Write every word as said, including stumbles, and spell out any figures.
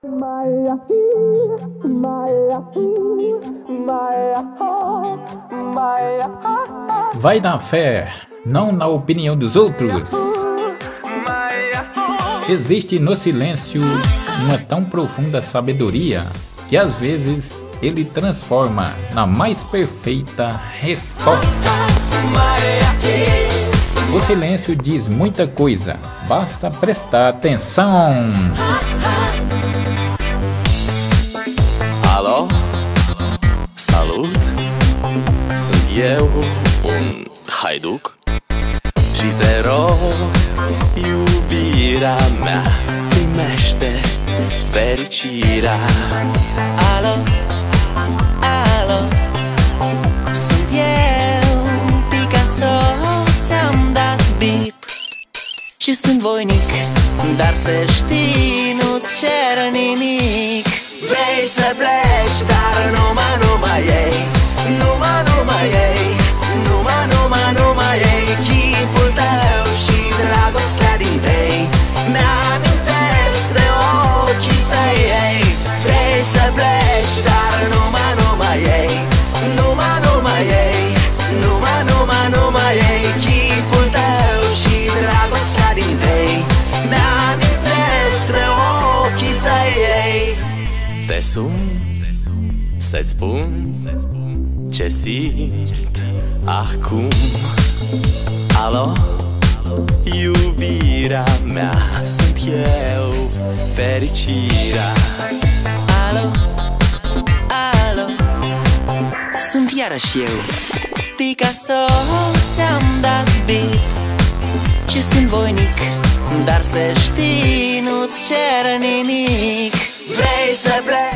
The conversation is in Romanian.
Vai na fé, não na opinião dos outros. Existe no silêncio uma tão profunda sabedoria que às vezes ele transforma na mais perfeita resposta. O silêncio diz muita coisa, basta prestar atenção. Alo, salut, sunt eu, un haiduc și te rog, iubirea mea, primește fericirea. Alo, alo, sunt eu, Picasso, ți-am dat bip și sunt voinic, dar să știi, nu-ți cer nimic. Vrei să pleci, dar numai, numai ei, numai, numai ei, numai, numai, numai ei, chipul tău și dragostea din tei mi-amintesc de ochii tăi, ei. Vrei să pleci, dar numai, numai ei, numai, numai ei, numai, numai, numai ei, chipul tău și dragostea din tei mi-amintesc de ochii tăi, ei. Te sun să-ți spun ce simt acum. Alo, iubirea mea, sunt eu, fericirea. Alo, alo, sunt iarăși eu, Picasso, ți-am dat bip și sunt voinic, dar să știi, nu-ți cer nimic. Vrei să pleci?